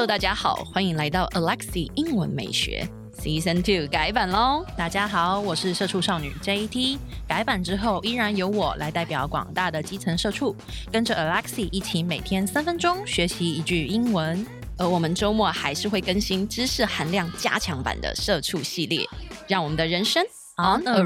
大家好，歡迎來到 Alexi 英文美學 Season 2改版咯。 大家好，我是社畜少女 JT。改版之後，依然由我來代表廣大的基層社畜，跟着 Alexi 一起每天3分鐘學習一句英文。 而我們週末還是會更新知識含量加強版的社畜系列，讓我們的人生 on a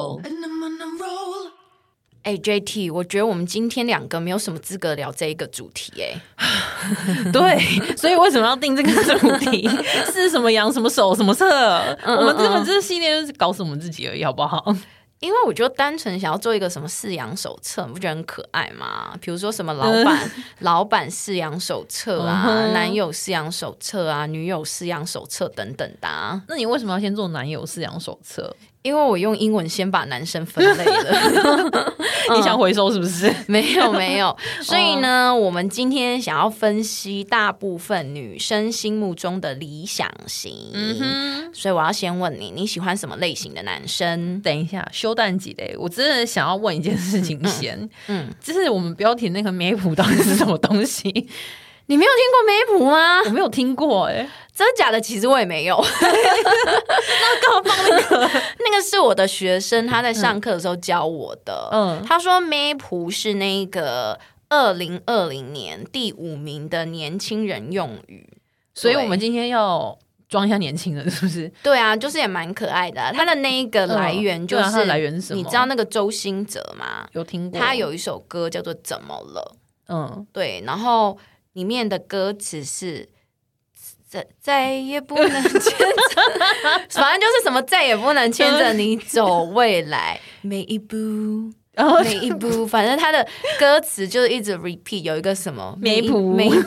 roll。JT， 我覺得我們今天兩個沒有什麼資格聊這一個主題對，所以為什麼要定這個主題？是什麼羊什麼手什麼策？我們根本這個系列就是搞死我們自己而已，好不好？ 因為我就單純想要做一個什麼飼養手冊，你不覺得很可愛嗎？比如說什麼老闆飼養手冊啊，男友飼養手冊啊，女友飼養手冊等等的啊。 那你為什麼要先做男友飼養手冊？ 因為我用英文先把男生分類了。 你想回收是不是？ 没有。所以呢，我們今天想要分析大部分女生心目中的理想型。所以我要先問你，你喜歡什麼類型的男生？ 等一下，休蛋幾嘞？我真的想要問一件事情先。就是我們標題那個梅普到底是什麼東西？ 你沒有聽過梅普嗎？ 我沒有聽過真的假的？其實我也沒有。 那幹嘛放那個？ 那個是我的學生，他在上課的時候教我的。他說梅普是那個2020年第5名的年輕人用語， 所以我們今天要裝一下年輕人，是不是？對啊，就是也蠻可愛的啊。他的那一個來源就是， 它的來源是什麼？ 你知道那個周興哲嗎？ 有聽過。他有一首歌叫做《怎麼了》。對，然後裡面的歌詞是再也不能牽着，反正就是什麼再也不能牽着你走未來每一步。每一步，反正他的歌詞就是一直 repeat， 有一個什麼每一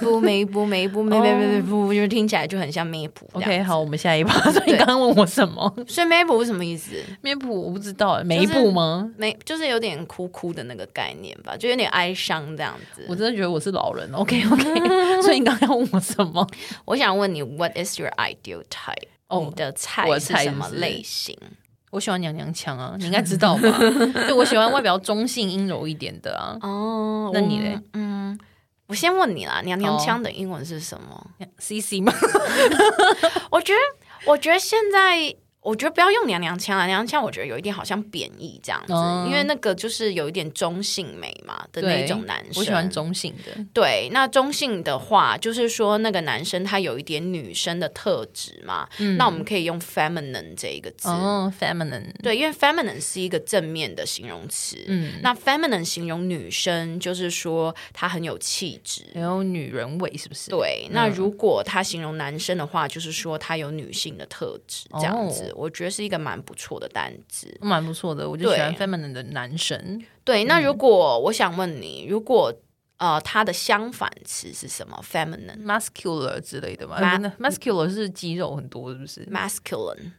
步，就聽起來就很像梅普。 OK， 好，我們下一趴。所以你剛剛問我什麼？ 所以梅普是什麼意思？ 梅普我不知道，每一步嗎？ 就是有點哭哭的那個概念吧，就有點哀傷這樣子。 我真的覺得我是老人。OK， 所以你剛剛要問我什麼？ 我想問你 ，What is your ideal type？你的菜是什麼類型？ 我喜歡娘娘腔啊，你應該知道吧？就我喜歡外表中性陰柔一點的啊。那你嘞？ 我先問你啦，娘娘腔的英文是什麼 ？CC 嗎？ 我覺得現在。我覺得不要用娘娘腔啊，娘娘腔我覺得有一點好像貶義這樣子，因為那個就是有一點中性美嘛的那種男生。 我喜歡中性的。對， 那中性的話就是說那個男生他有一點女生的特質嘛，那我們可以用 feminine 這一個字。 feminine。对， 因為 feminine 是一個正面的形容詞。那 feminine 形容女生就是說她很有氣質， 很有女人味，是不是？ 對。那如果他形容男生的話，就是說他有女性的特質，這樣子。我覺得是一個蠻不錯的單字， 蠻不錯的。我就喜歡 feminine 的男生。 對，那如果我想問你，如果它的相反詞是什麼 ？feminine、 muscular 之類的嘛？muscular 是肌肉很多，是不是 ？masculine，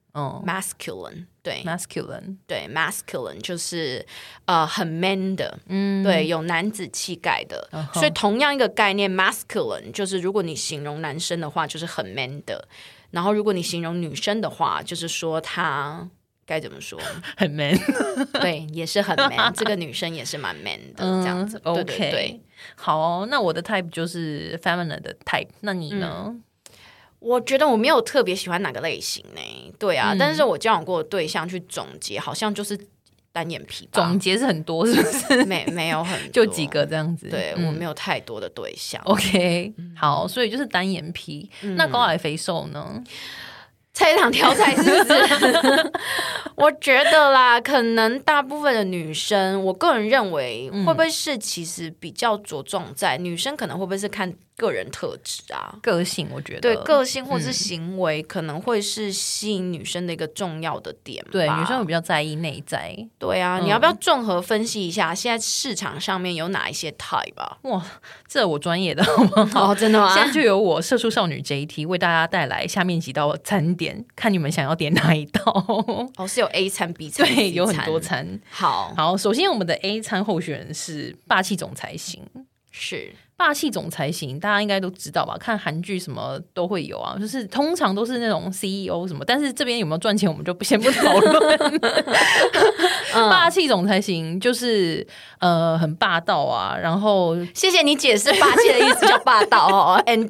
对 ，masculine， 对 ，masculine 就是很 man 的，对，有男子氣概的。所以同樣一個概念 ，masculine 就是如果你形容男生的話，就是很 man 的。然後，如果你形容女生的話，就是說她該怎麼說？很 man， 對，也是很 man。這個女生也是蠻 man 的，這樣子。對對對， 好，那我的 type 就是 feminine 的 type。那你呢？ 我覺得我沒有特別喜歡哪個類型呢。對啊，但是我交往過的對象去總結，好像就是單眼皮吧。 總結是很多，是不是？ 沒有很多， 就幾個這樣子。 對，我沒有太多的對象。 OK， 好，所以就是單眼皮。那高矮肥瘦呢？ 菜场挑菜是不是？我覺得啦，可能大部分的女生，我個人認為會不會是其實比較着重在女生可能會不會是看個人特質啊， 個性，我覺得對個性或是行為可能會是吸引女生的一個重要的點吧。 對，女生會比較在意內在。 對啊，你要不要綜合分析一下現在市場上面有哪一些 type 吧？ 哇，這我專業的好不好？ 真的嗎？ 現在就由我社畜少女 JT 為大家帶來下面幾道餐點，看你們想要點哪一道。 是有 A 餐 B 餐， 對，有很多餐。 好， 首先我們的 A 餐候選人是霸氣總裁型。 是霸氣總裁型大家應該都知道吧，看韓劇什麼都會有啊，就是通常都是那種 CEO 什麼，但是這邊有沒有賺錢我們就先不討論。霸氣總裁型就是很霸道啊，然後謝謝你解釋霸氣的意思叫霸道哦。and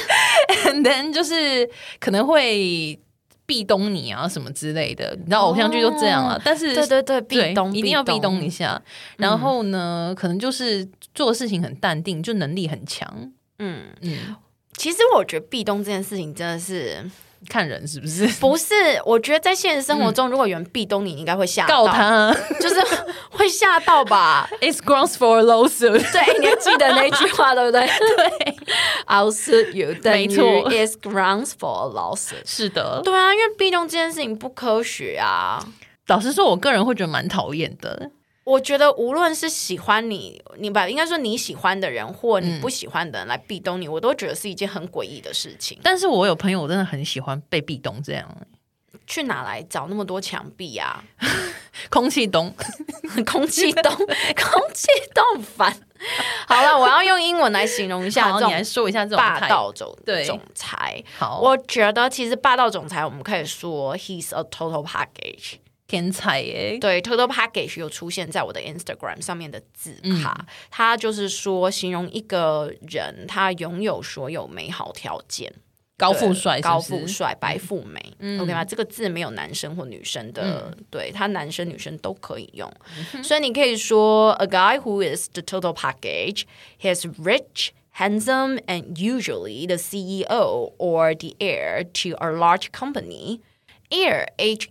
then 就是可能會壁咚你啊什麼之類的，你知道偶像劇都這樣啊。但是对壁咚一定要壁咚一下。然後呢，可能就是做事情很淡定，就能力很强。 其實我覺得壁咚這件事情真的是看人是不是？ 不是，我覺得在現實生活中，如果有人壁咚你，你應該會嚇到， 告他， 就是會嚇到吧。 It's grounds for a lawsuit。 對，你還記得那句話對不對？对 ，I'll sue you。 沒錯 ，It's grounds for a lawsuit。 是的， 對啊，因為壁咚這件事情不科學啊。 老實說，我個人會覺得蠻討厭的。 我覺得無論是喜歡你吧，應該說你喜歡的人或你不喜歡的人來壁咚你，我都覺得是一件很詭異的事情。 但是我有朋友真的很喜歡被壁咚，這樣去哪來找那麼多牆壁啊？ 空氣咚， 空氣咚，空氣咚煩。好了，我要用英文來形容一下， 你來說一下这种霸道总裁。 好， 我觉得其實霸道總裁，我們可以說 he's a total package。 天才耶！ 对 ，total package 有出現在我的 Instagram 上面的字卡，它就是說形容一個人，他擁有所有美好條件， 高富帥， 高富帥，白富美，OK 嗎？這個字沒有男生或女生的，對，他男生女生都可以用，所以你可以說 a guy who is the total package, he's rich, handsome, and usually the CEO or the heir to a large company.Heir,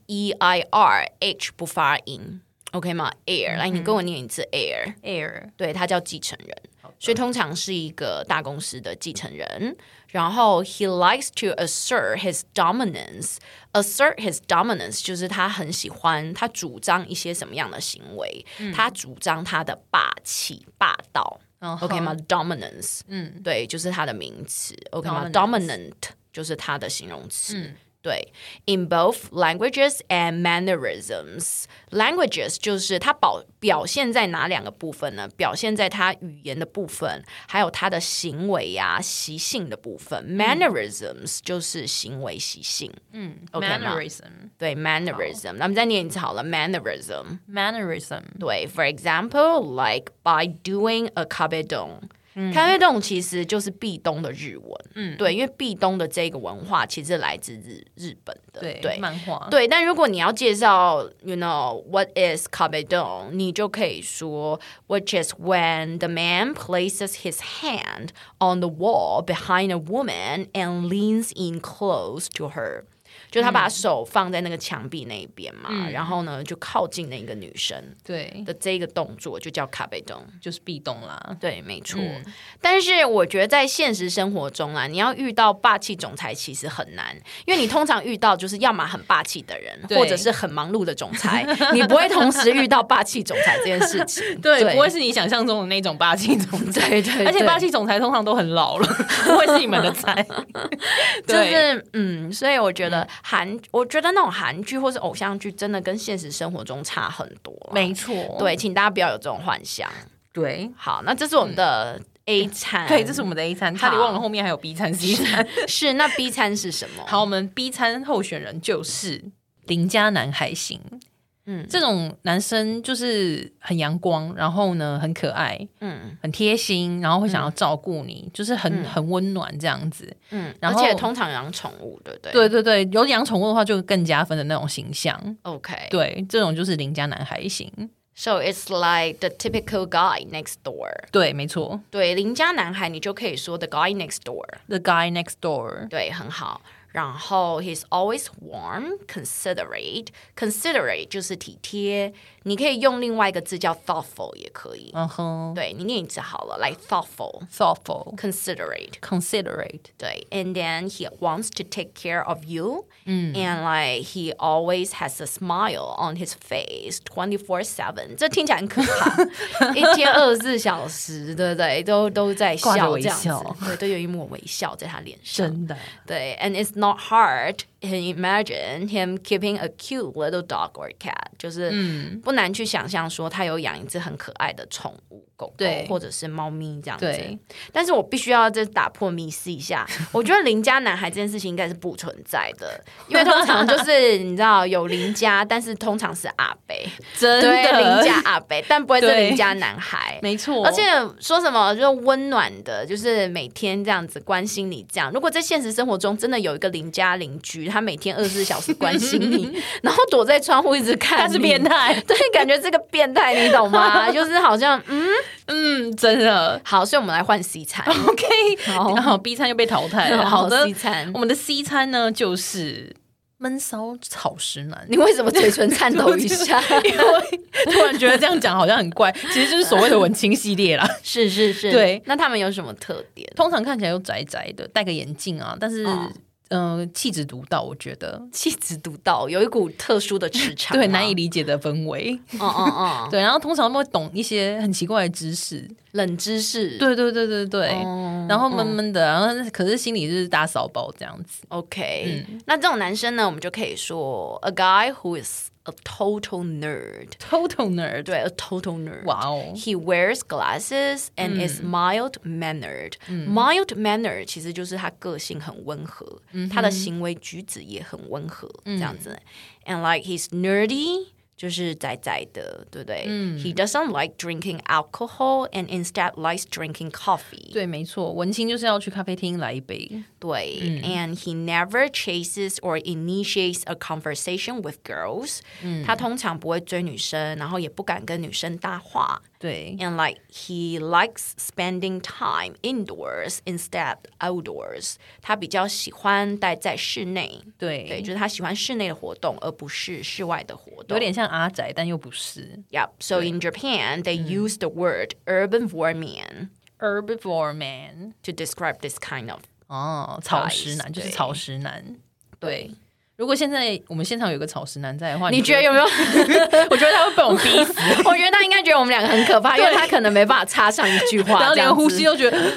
H-E-I-R, H 不發音 ，OK 嗎 ？Heir，來，你跟我念一次 heir，heir，對，他叫繼承人，所以通常是一個大公司的繼承人。然後 he likes to assert his dominance，assert his dominance 就是他很喜歡，他主張一些什麼樣的行為？他主張他的霸氣、霸道 ，OK 嗎 ？Dominance，對，就是他的名詞 ，OK 嗎 ？Dominant 就是他的形容詞。對 ，in both languages and mannerisms。languages 就是它表現在哪兩個部分呢？表現在它語言的部分，還有它的行為呀、習性的部分。mannerisms 就是行為習性。OK 嗎 ？mannerism 對 mannerism，那我們再念一次好了 mannerism。对 ，for example, like by doing a kabedon。咖啡洞其實就是壁咚的日文，對，因為壁咚的這個文化其實來自日本的，對， 漫畫， 對。但如果你要介紹 ，you know what is 咖啡洞，你就可以說 ，which is when the man places his hand on the wall behind a woman and leans in close to her。就他把手放在那個牆壁那一邊嘛，然後呢就靠近那個女生對的這個動作就叫卡貝咚， 就是壁咚啦。 對，沒錯。但是我覺得在現實生活中啊，你要遇到霸氣總裁其實很難，因為你通常遇到就是要麼很霸氣的人，或者是很忙碌的總裁，你不會同時遇到霸氣總裁這件事情。 對，不會是你想象中的那種霸氣總裁。 對， 而且霸氣總裁通常都很老了，不會是你們的菜。 就是所以我覺得。我覺得那種韓劇或是偶像劇真的跟現實生活中差很多。 沒錯， 對，請大家不要有這種幻想。 對， 好，那這是我們的 A 餐。 對，這是我們的 A 餐，差點忘了後面還有 B 餐、C 餐。 是，那 B 餐是什麼？ 好，我們 B 餐候選人就是鄰家男孩型。這種男生就是很陽光，然後呢很可愛，很貼心，然後會想要照顧你，就是很溫暖這樣子，然後而且通常養寵物，對不對？ 對对對，有養寵物的話就更加分的那種形象。 OK， 對，這種就是鄰家男孩型。 So it's like the typical guy next door。對， 沒錯。 對，鄰家男孩你就可以說 the guy next door。The guy next door。 對，很好。然後 he's always warm, considerate. Considerate 就是體貼，你可以用另外一個字叫 thoughtful 也可以。對，你念一次好了， like thoughtful, considerate. 對 ，and then he wants to take care of you. And like he always has a smile on his face 24/7， 這聽起來很可怕，一天24小時，對不對？都在笑這樣子，對，都有一抹微笑在他臉上， 真的。 對 ，and it's not hard to imagine him keeping a cute little dog or cat， 就是不難去想象說他有養一隻很可愛的寵物狗狗或者是貓咪這樣子。但是我必須要打破迷思一下，我覺得鄰家男孩這件事情應該是不存在的，因為通常就是你知道有鄰家，但是通常是阿伯， 真的對，鄰家阿伯，但不會是鄰家男孩， 沒錯。 而且說什麼就溫暖的，就是每天這樣子關心你這樣。如果在現實生活中真的有一個鄰家鄰居，他每天24小時關心你，然後躲在窗戶一直看你， 他是變態， 對，感覺是個變態，你懂嗎？就是好像真的好，所以我們來換 C 餐 ，OK， 好 B 餐又被淘汰了。好的 ，C 餐， 我們的 C 餐呢就是悶騷草食男。 你為什麼嘴唇顫抖一下？ 因為突然覺得這樣講好像很怪，其實就是所謂的文青系列啦。 是， 對。 那他們有什麼特點？ 通常看起來又宅宅的，戴個眼鏡啊，但是氣質獨到，我覺得氣質獨到，有一股特殊的磁場， 对，難以理解的氛圍。對，然後通常他們會懂一些很奇怪的知識， 冷知識。 對，然後悶悶的，然後可是心裡就是大騷包這樣子。 OK，那這種男生呢，我們就可以說 a guy who is a total nerd. Total nerd. 對 a total nerd. Wow. He wears glasses and is mild-mannered. Mild-mannered 其實就是他個性很溫和，他的行為舉止也很溫和，這樣子。And like he's nerdy. 就是宅宅的，對不對？He doesn't like drinking alcohol and instead likes drinking coffee. 對，沒錯，文青就是要去咖啡廳來一杯。 對，and he never chases or initiates a conversation with girls. 他通常不會追女生，然後也不敢跟女生搭話。 對 ，and like he likes spending time indoors instead outdoors. 他比較喜歡待在室內，對，就是他喜歡室內的活動，而不是室外的活動。 有點像阿宅，但又不是。 Yep. So in Japan, they use the word urban-vor man. Urban-vor man to describe this kind of 草食男，就是草食男。对。如果現在我們現場有個草食男在的話， 你覺得有沒有？ 我覺得他會被我們逼死。 我覺得他應該覺得我們兩個很可怕，因為他可能沒辦法插上一句話， 然後連呼吸都覺得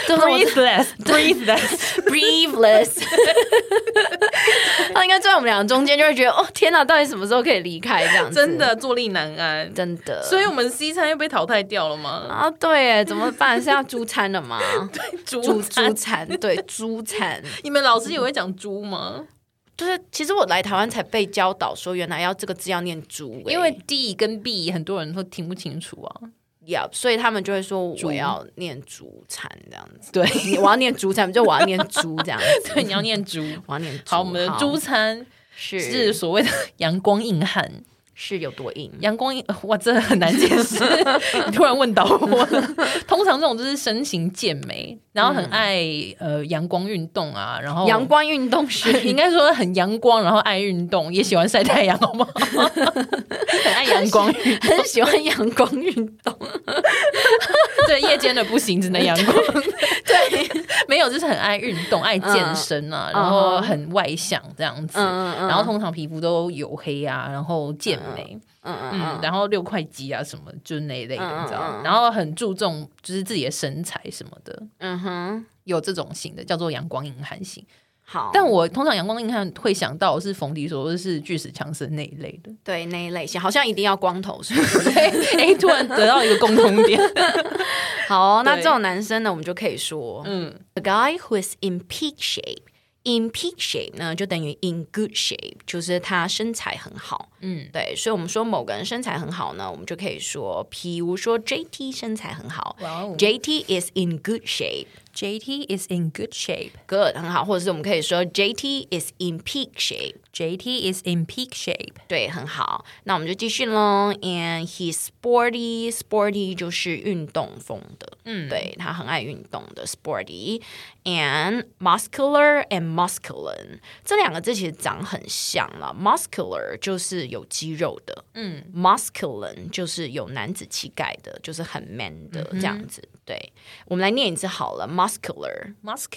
breathless。他應該在我們兩個中間就會覺得，哦天哪，到底什麼時候可以離開這樣子？ 真的坐立難安， 真的。 所以我們 C 餐又被淘汰掉了嗎？ 啊，對，怎麼辦？是要豬餐了嗎？ 對， 豬餐，對，豬餐。 你們老師也會講豬嗎？ 就是其實我來台灣才被教導說，原來這個字要念豬， 因為 D 跟 B 很多人都聽不清楚啊。 所以他們就會說我要念豬餐這樣子。 對， 我要念豬餐，就我要念豬這樣子。 對，你要念豬， 我要念豬。 好，我們的豬餐是所謂的陽光硬漢。 是有多硬？ 陽光硬，哇，這很難解釋。你突然問到我，通常這種就是身形健美，然後很愛陽光運動啊，然後陽光運動是應該說很陽光，然後愛運動，也喜歡曬太陽，好不好？很愛陽光運動， 很喜歡陽光運動。 對，夜間的不行，只能陽光。對，沒有，就是很愛運動，愛健身啊，然後很外向這樣子，然後通常皮膚都黝黑啊，然後健美，然後6塊肌啊什麼，就是那一類的，你知道，然後很注重就是自己的身材什麼的，有這種型的叫做陽光硬漢型。 好， 但我通常陽光硬漢會想到是馮迪說的是巨石強森那一類的， 對，那一類型好像一定要光頭，是不是？ 哎，突然得到一個共同點。 好，那這種男生呢，我們就可以說，a guy who is in peak shape。In peak shape 呢，就等於 in good shape， 就是他身材很好。对，所以我們說某個人身材很好呢，我們就可以說，譬如說 JT 身材很好，JT is in good shape。JT is in good shape. Good， 很好。或者是我們可以說 JT is in peak shape。JT is in peak shape. 對，很好。那我們就繼續咯。And he's sporty. Sporty 就是運動風的。對，他很愛運動的 sporty. And muscular and masculine 這兩個字其實長很像啦。Muscular 就是有肌肉的，masculine 就是有男子氣概的，就是很 man 的這樣子。對，我們來念一次好了 ，muscular，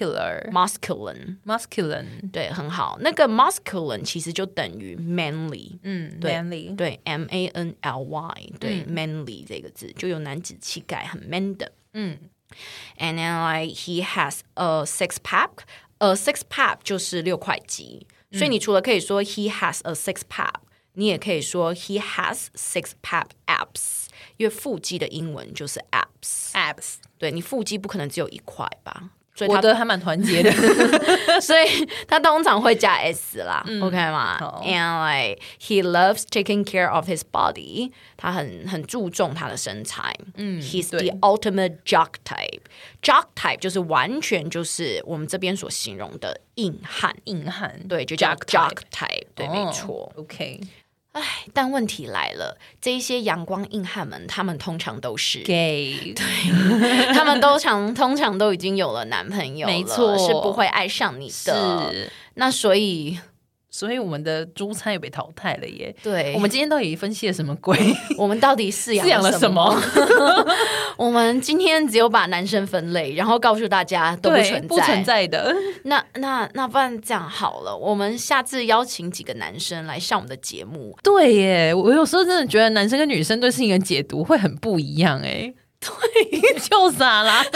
masculine， 對，很好。那個 masculine 其實就等於 manly， manly， 對 ，manly， 對，manly 這個字就有男子氣概，很 man 的。And then like he has a six pack six pack 就是6塊肌，所以你除了可以說 he has a six pack， 你也可以說 he has six pack abs， 因為腹肌的英文就是 abs。对，你腹肌不可能只有1塊吧？所以我的還蠻團結的， 所以他通常會加 s 啦，OK 嗎？And like he loves taking care of his body， 他很注重他的身材。He's the ultimate jock type。Jock type 就是完全就是我們這邊所形容的硬漢，對，就叫 jock type， 對，沒錯。 OK。 唉，但問題來了，這一些陽光硬漢們，他們通常都是 gay， 對，他們通常都已經有了男朋友了， 沒錯， 是不會愛上你的。是，那所以我們的豬餐也被淘汰了耶。 對， 我們今天到底分析了什麼鬼？我們到底飼養了什麼？我們今天只有把男生分類，然後告訴大家都不存在的。那不然這樣好了，我們下次邀請幾個男生來上我們的節目。 對耶，我有時候真的覺得男生跟女生對事情的解讀會很不一樣哎。对，就傻啦。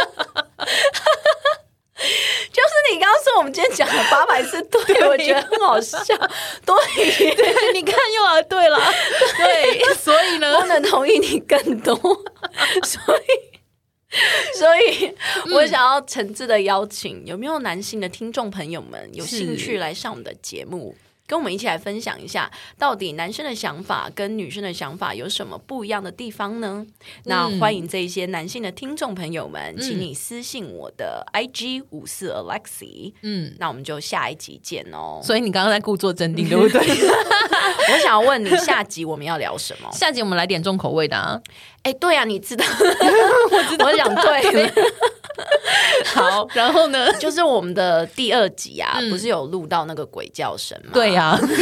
就是你剛剛說我們今天講了800次對，我覺得很好笑。 對，你看又來對了。對，所以呢， 不能同意你更多。所以我想要誠摯的邀請，有沒有男性的聽眾朋友們有興趣來上我們的節目，跟我們一起來分享一下，到底男生的想法跟女生的想法有什麼不一樣的地方呢？那歡迎這一些男性的聽眾朋友們，請你私信我的 IG 54Alexi。那我們就下一集見哦。 所以你剛剛在故作鎮定，對不對？ 我想要問你，下集我們要聊什麼？ 下集我們來點重口味的啊！ 哎，对啊，你知道，我知道，我想對了。 好，然後呢， 就是我們的第2集啊，不是有錄到那個鬼叫聲嗎？ 對呀、啊，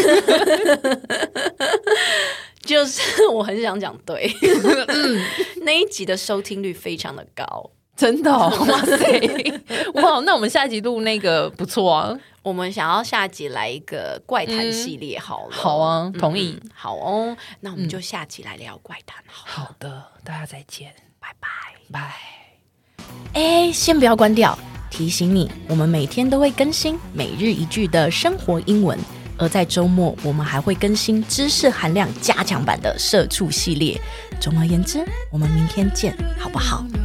就是我很想講對，那一集的收聽率非常的高， 真的、哦，哇塞，哇，那我們下集錄那個不錯啊。 我們想要下集來一個怪談系列好了， 好啊，同意， 好哦，那我們就下集來聊怪談好了。 好的，大家再見， 拜拜， 拜。 哎，先不要關掉，提醒你，我們每天都會更新每日一句的生活英文，而在週末我們還會更新知識含量加強版的社畜系列。總而言之，我們明天見，好不好？